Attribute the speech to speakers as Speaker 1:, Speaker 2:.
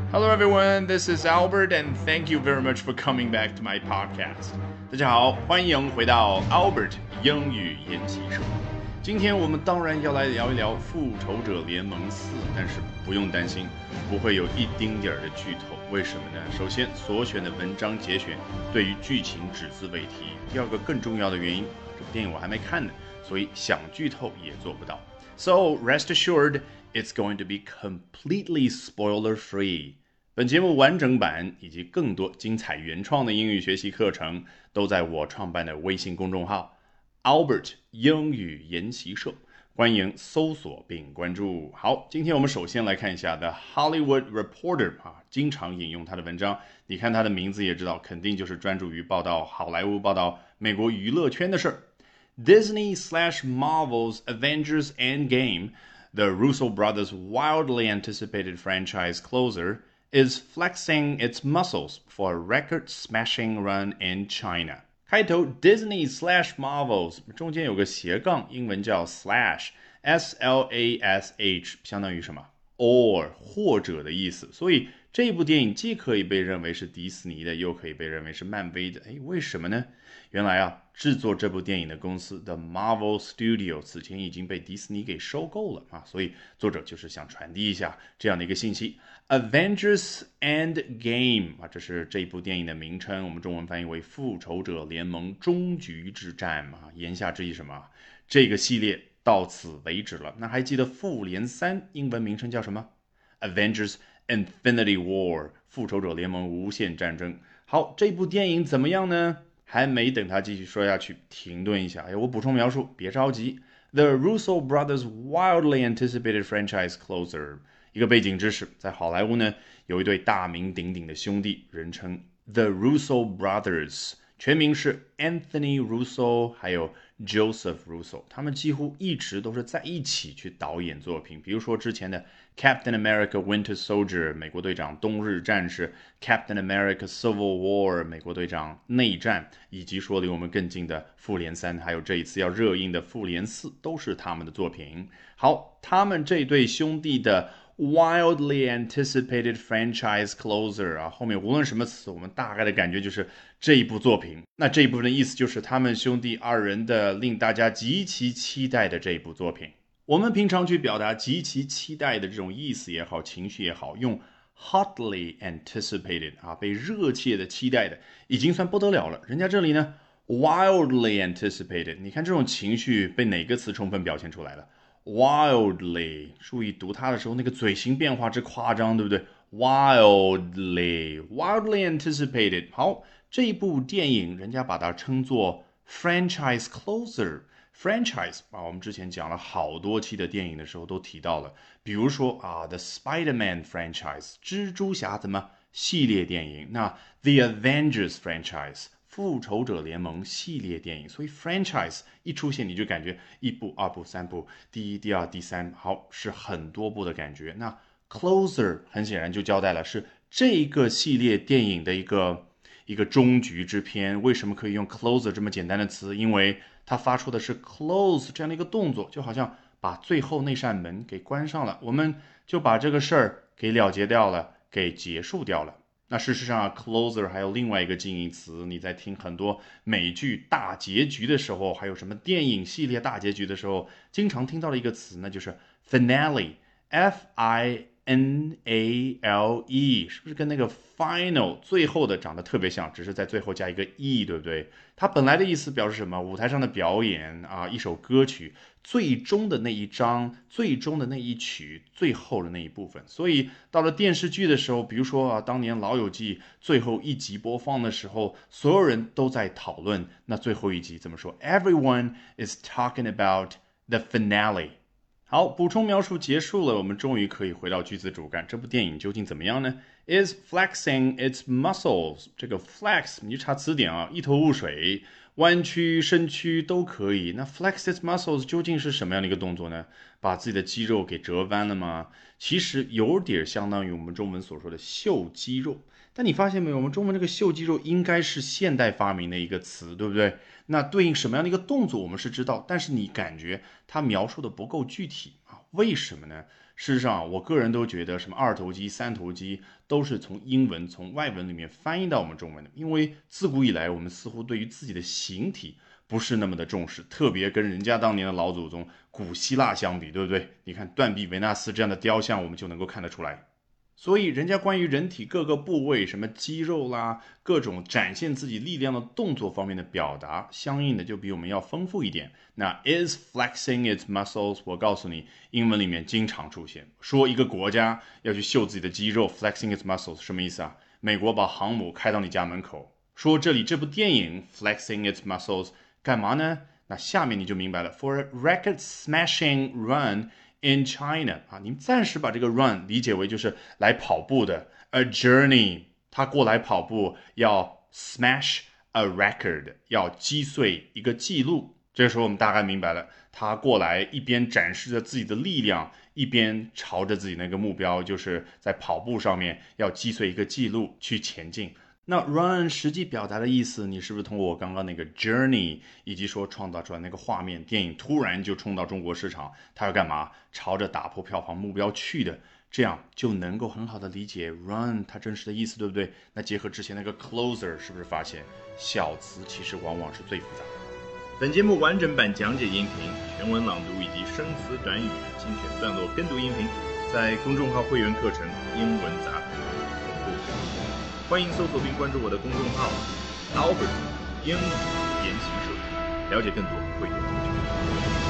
Speaker 1: Hello everyone, this is Albert and thank you very much for coming back to my podcast. 大家好，欢迎回到 Albert 英语研习社。今天我们当然要来聊一聊复仇者联盟4，但是不用担心，不会有一丁点儿的剧透。为什么呢？首先，所选的文章节选对于剧情只字未提。第二个更重要的原因，这部电影我还没看呢，所以想剧透也做不到。So rest assured, it's going to be completely spoiler-free. 本节目完整版以及更多精彩原创的英语学习课程都在我创办的微信公众号 Albert 英语研习社，欢迎搜索并关注。好，今天我们首先来看一下 The Hollywood Reporter 经常引用他的文章，你看他的名字也知道，肯定就是专注于报道好莱坞、报道美国娱乐圈的事儿。Disney/Marvel's Avengers Endgame, the Russo brothers' wildly anticipated franchise closer, is flexing its muscles for a record-smashing run in China. 开头 Disney/Marvels 中间有个斜杠，英文叫 slash，S-L-A-S-H 相当于什么 or 或者的意思，所以这部电影既可以被认为是迪士尼的，又可以被认为是漫威的。为什么呢？原来制作这部电影的公司 The Marvel Studio 此前已经被迪士尼给收购了所以作者就是想传递一下这样的一个信息。Avengers Endgame 这是这部电影的名称，我们中文翻译为复仇者联盟终局之战言下之意什么？这个系列到此为止了。那还记得复联3英文名称叫什么？ Avengers Infinity War 复仇者联盟无限战争。好，这部电影怎么样呢？还没等他继续说下去，停顿一下。我补充描述，别着急。The Russo brothers' wildly anticipated franchise closer。一个背景知识，在好莱坞呢，有一对大名鼎鼎的兄弟，人称 The Russo brothers， 全名是 Anthony Russo， 还有 Joseph Russo， 他们几乎一直都是在一起去导演作品，比如说之前的 Captain America Winter Soldier 美国队长冬日战士， Captain America Civil War 美国队长内战，以及说离我们更近的复联3，还有这一次要热映的复联4，都是他们的作品。好，他们这对兄弟的wildly anticipated franchise closer 后面无论什么词，我们大概的感觉就是这一部作品。那这一部分的意思就是他们兄弟二人的令大家极其期待的这一部作品。我们平常去表达极其期待的这种意思也好，情绪也好，用 hotly anticipated 被热切的期待的，已经算不得了了。人家这里呢 wildly anticipated， 你看这种情绪被哪个词充分表现出来了？Wildly， 注意读它的时候那个嘴型变化之夸张，对不对？ Wildly anticipated。 好，这一部电影人家把它称作 franchise closer。 franchise 我们之前讲了好多期的电影的时候都提到了，比如说The Spider-Man franchise 蜘蛛侠系列电影，那 The Avengers franchise复仇者联盟系列电影，所以 franchise 一出现你就感觉一部、二部、三部，第一、第二、第三，好，是很多部的感觉。那 closer 很显然就交代了是这个系列电影的一个终局之篇。为什么可以用 closer 这么简单的词？因为它发出的是 close 这样的一个动作，就好像把最后那扇门给关上了，我们就把这个事儿给了结掉了，给结束掉了。那事实上closer 还有另外一个近义词，你在听很多美剧大结局的时候，还有什么电影系列大结局的时候，经常听到的一个词，那就是 finale， F-I-N-A-L-E， 是不是跟那个 final 最后的长得特别像，只是在最后加一个 e， 对不对？它本来的意思表示什么？舞台上的表演一首歌曲最终的那一章，最终的那一曲，最后的那一部分。所以到了电视剧的时候，比如说当年老友记最后一集播放的时候，所有人都在讨论那最后一集怎么说， Everyone is talking about the finale。好，补充描述结束了，我们终于可以回到句子主干。这部电影究竟怎么样呢？ Is flexing its muscles。 这个 flex 你就查词典一头雾水，弯曲、伸曲都可以。那 flex its muscles 究竟是什么样的一个动作呢？把自己的肌肉给折弯了吗？其实有点相当于我们中文所说的秀肌肉。但你发现没有，我们中文这个秀肌肉应该是现代发明的一个词，对不对？那对应什么样的一个动作我们是知道，但是你感觉它描述的不够具体为什么呢？ 事实上，我个人都觉得什么二头肌、三头肌都是从英文、从外文里面翻译到我们中文的，因为自古以来我们似乎对于自己的形体不是那么的重视，特别跟人家当年的老祖宗古希腊相比，对不对？你看断臂维纳斯这样的雕像，我们就能够看得出来。所以，人家关于人体各个部位，什么肌肉啦，各种展现自己力量的动作方面的表达，相应的就比我们要丰富一点。那 is flexing its muscles， 我告诉你，英文里面经常出现，说一个国家要去秀自己的肌肉 ，flexing its muscles 什么意思啊？美国把航母开到你家门口，说这里这部电影 flexing its muscles 干嘛呢？那下面你就明白了 ，for a record smashing run in China 啊，你们暂时把这个 run 理解为就是来跑步的 a journey， 他过来跑步要 smash a record， 要击碎一个记录。这个时候我们大概明白了，他过来一边展示着自己的力量，一边朝着自己那个目标，就是在跑步上面要击碎一个记录去前进。那 run 实际表达的意思，你是不是通过我刚刚那个 journey， 以及说创造出来那个画面，电影突然就冲到中国市场，它要干嘛？朝着打破票房目标去的，这样就能够很好的理解 run 它真实的意思，对不对？那结合之前那个 closer， 是不是发现小词其实往往是最复杂的？
Speaker 2: 本节目完整版讲解音频、全文朗读以及生词短语精选段落跟读音频，在公众号会员课程英文杂谈同步。欢迎搜索并关注我的公众号 Albert 英语研习社，了解更多会员资讯。